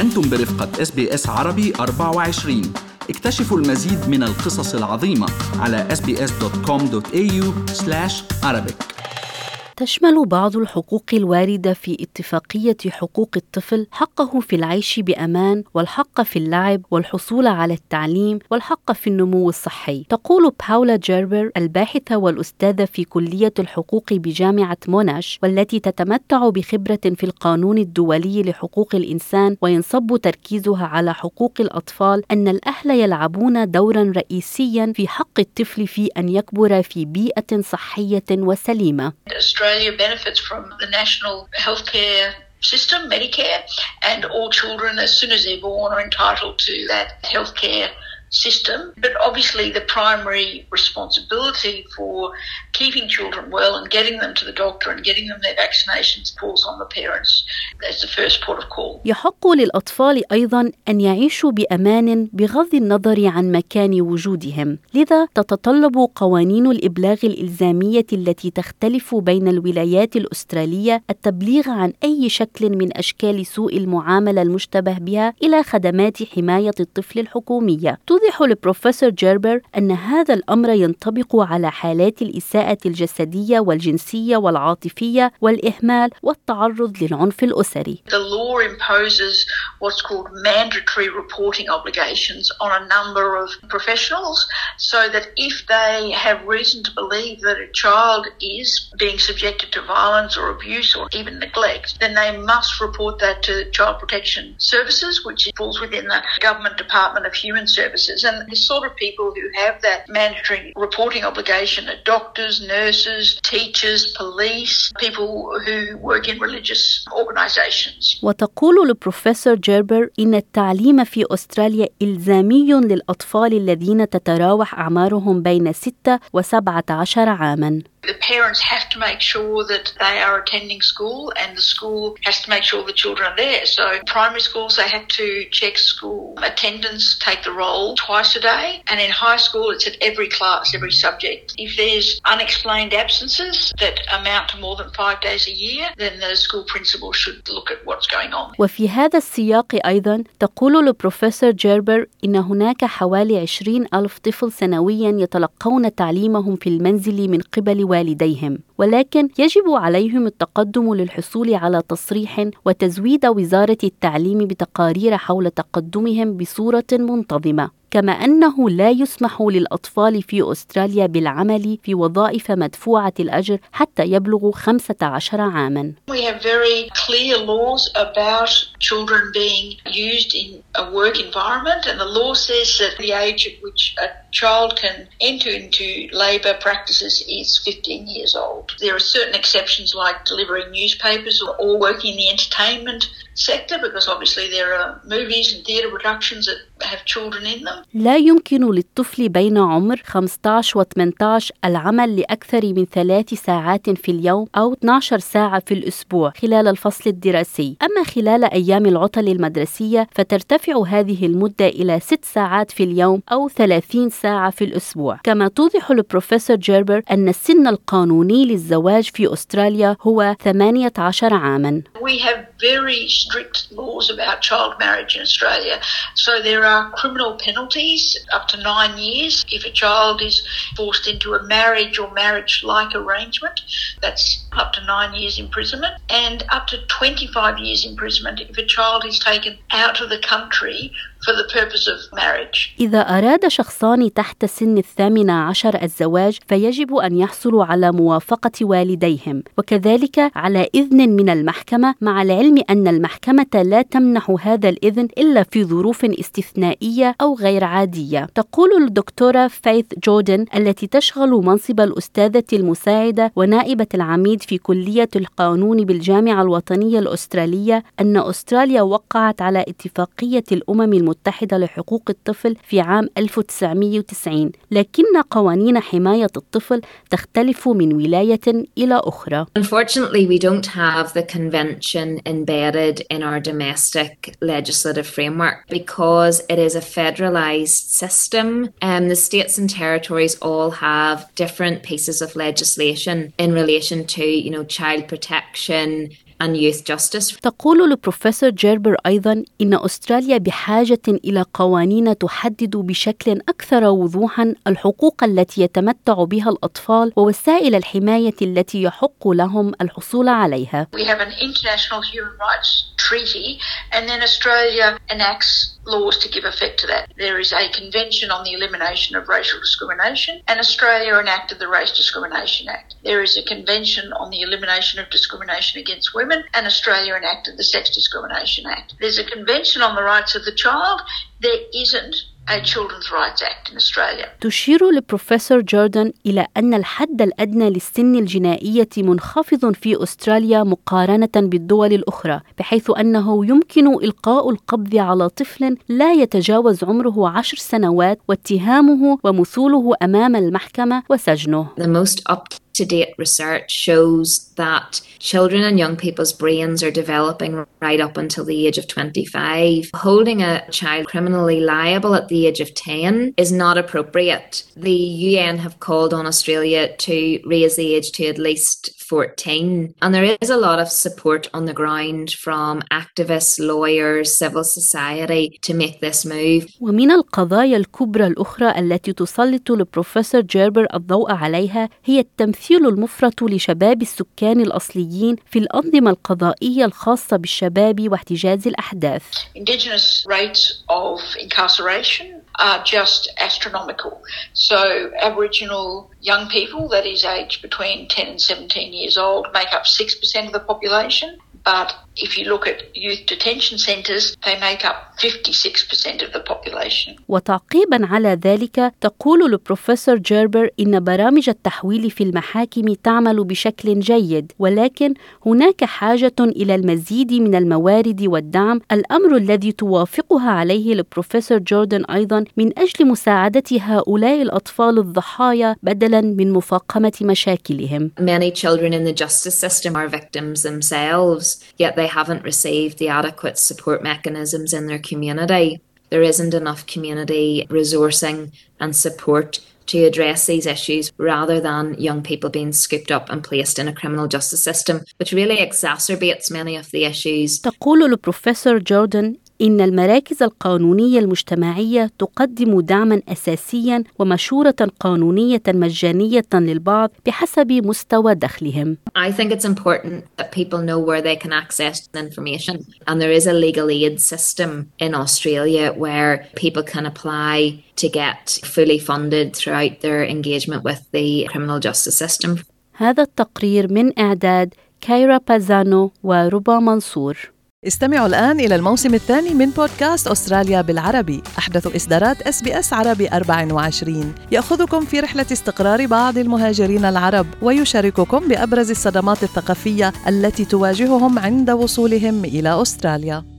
أنتم برفقة SBS عربي 24. اكتشفوا المزيد من القصص العظيمة على sbs.com.au/Arabic. تشمل بعض الحقوق الواردة في اتفاقية حقوق الطفل حقه في العيش بأمان، والحق في اللعب، والحصول على التعليم، والحق في النمو الصحي. تقول باولا جيربر الباحثة والأستاذة في كلية الحقوق بجامعة موناش، والتي تتمتع بخبرة في القانون الدولي لحقوق الإنسان وينصب تركيزها على حقوق الأطفال، أن الأهل يلعبون دورا رئيسيا في حق الطفل في أن يكبر في بيئة صحية وسليمة. Australia benefits from the national healthcare system, Medicare, and all children as soon as they're born are entitled to that healthcare system. But obviously the primary responsibility for keeping children well and getting them to the doctor and getting them their vaccinations falls on the parents. That's the first port of call. يحق للأطفال أيضاً أن يعيشوا بأمان بغض النظر عن مكان وجودهم، لذا تتطلب قوانين الإبلاغ الإلزامية التي تختلف بين الولايات الأسترالية التبليغ عن أي شكل من أشكال سوء المعاملة المشتبه بها إلى خدمات حماية الطفل الحكومية. توضح البروفيسور جيربر أن هذا الأمر ينطبق على حالات الإساءة الجسدية والجنسية والعاطفية والإهمال والتعرض للعنف الأسري. The law imposes what's called mandatory reporting obligations on a number of professionals so that if they have reason to believe that a child is being subjected to violence or abuse or even neglect, then they must report that to Child Protection Services, which falls within the Government Department of Human Services. And the sort of people who have that mandatory reporting obligation are doctors, nurses, teachers, police, people who work in religious organisations. وتقول البروفيسور جيربر إن التعليم في أستراليا إلزامي للأطفال الذين تتراوح أعمارهم بين 6 و17 عاماً. The parents have to make sure that they are attending school and the school has to make sure the children are there. So in primary schools they have to check school attendance, take the roll twice a day, and in high school it's at every class, every subject. If there's unexplained absences that amount to more than 5 days a year, then the school principal should look at what's going on. وفي هذا السياق أيضا تقول البروفيسور جيربر إن هناك حوالي 20,000 طفل سنويا يتلقون تعليمهم في المنزل من قبل والديهم، ولكن يجب عليهم التقدم للحصول على تصريح وتزويد وزارة التعليم بتقارير حول تقدمهم بصورة منتظمة، كما أنه لا يسمح للأطفال في أستراليا بالعمل في وظائف مدفوعة الأجر حتى يبلغوا 15 عاماً. We have very clear laws about children being used in a work environment, and the law says that the age at which a child can enter into labour practices is 15 years old. There are certain exceptions like delivering newspapers or working in the entertainment sector, because obviously there are movies and theatre productions that have children in them. لا يمكن للطفل بين عمر 15 و 18 العمل لأكثر من 3 ساعات في اليوم أو 12 ساعة في الأسبوع خلال الفصل الدراسي. أما خلال أيام العطل المدرسية فترتفع هذه المدة إلى 6 ساعات في اليوم أو 30 ساعة في الأسبوع. كما توضح البروفيسور جيربر أن السن القانوني للزواج في أستراليا هو 18 عاماً. We have very strict laws about child marriage in Australia. So there are criminal penalties up to 9 years if a child is forced into a marriage or marriage-like arrangement. That's up to 9 years imprisonment, and up to 25 years imprisonment if a child is taken out of the country for the purpose of marriage. إذا أراد شخصان تحت سن 18 الزواج فيجب أن يحصلوا على موافقة والديهم وكذلك على إذن من المحكمة، مع العلم أن المحكمة لا تمنح هذا الإذن إلا في ظروف استثنائية أو غير عادية. تقول الدكتورة فايث جوردن التي تشغل منصب الأستاذة المساعدة ونائبة العميد في كلية القانون بالجامعة الوطنية الأسترالية أن أستراليا وقعت على اتفاقية الأمم المتحدة لحقوق الطفل في عام 1990، لكن قوانين حماية الطفل تختلف من ولاية إلى أخرى. Unfortunately, we don't have the convention embedded in our domestic legislative framework because it is a federalised system. The states and territories all have different pieces of legislation in relation to, child protection and youth justice. تقول البروفيسور جيربر أيضاً إن أستراليا بحاجة إلى قوانين تحدد بشكل أكثر وضوحاً الحقوق التي يتمتع بها الأطفال ووسائل الحماية التي يحق لهم الحصول عليها. We have an international human rights treaty, and then Australia enacts laws to give effect to that. There is a convention on the elimination of racial discrimination, and Australia enacted the Race Discrimination Act. There is a convention on the elimination of discrimination against women, and Australia enacted the Sex Discrimination Act. There's a convention on the rights of the child. There isn't a Children's Rights Act in Australia. تشير البروفيسور جوردن إلى أن الحد الأدنى للسن الجنائية منخفض في أستراليا مقارنة بالدول الأخرى، بحيث أنه يمكن إلقاء القبض على طفل لا يتجاوز عمره 10 سنوات واتهامه ومثوله أمام المحكمة وسجنه. The most up-to-date research shows that children and young people's brains are developing right up until the age of 25. Holding a child criminally liable at the age of 10 is not appropriate. The UN have called on Australia to raise the age to at least 14. And there is a lot of support on the ground from activists, lawyers, civil society to make this move. ومن القضايا الكبرى الأخرى التي تسلط البروفيسور جيربر الضوء عليها هي التمثيل المفرط لشباب السكان الأصليين في الأنظمة القضائية الخاصة بالشباب واحتجاز الأحداث. Indigenous rates of incarceration are just astronomical. So Aboriginal young people, that is aged between 10 and 17 years old, make up 6% of the population. But if you look at youth detention centres, they make up 56% of the population. وتعقيباً على ذلك تقول البروفيسور جيربر إن برامج التحويل في المحاكم تعمل بشكل جيد، ولكن هناك حاجة إلى المزيد من الموارد والدعم، الأمر الذي توافقها عليه البروفيسور جوردن أيضاً من أجل مساعدة هؤلاء الأطفال الضحايا بدلاً من مفاقمة مشاكلهم. Many children in the justice system are victims themselves, yet they haven't received the adequate support mechanisms in their community. There isn't enough community resourcing and support to address these issues rather than young people being scooped up and placed in a criminal justice system, which really exacerbates many of the issues. تقول البروفيسور جوردن إن المراكز القانونية المجتمعية تقدم دعماً أساسياً ومشورة قانونية مجانية للبعض بحسب مستوى دخلهم. I think it's important that people know where they can access information, and there is a legal aid system in Australia where people can apply to get fully funded throughout their engagement with the criminal justice system. هذا التقرير من إعداد كايرا بازانو وربا منصور. استمعوا الآن إلى الموسم الثاني من بودكاست أستراليا بالعربي، أحدث إصدارات SBS عربي 24، يأخذكم في رحلة استقرار بعض المهاجرين العرب ويشارككم بأبرز الصدمات الثقافية التي تواجههم عند وصولهم إلى أستراليا.